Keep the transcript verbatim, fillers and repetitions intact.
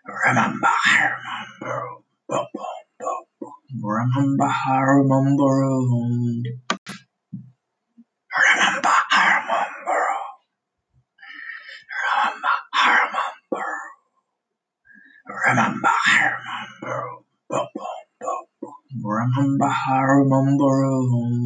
Remember, I remember. Boom, boom, boom, boom. Remember, I remember. Remember, I remember. Remember, I remember. Remember, I remember. Boom, boom, boom, boom. Remember, I remember.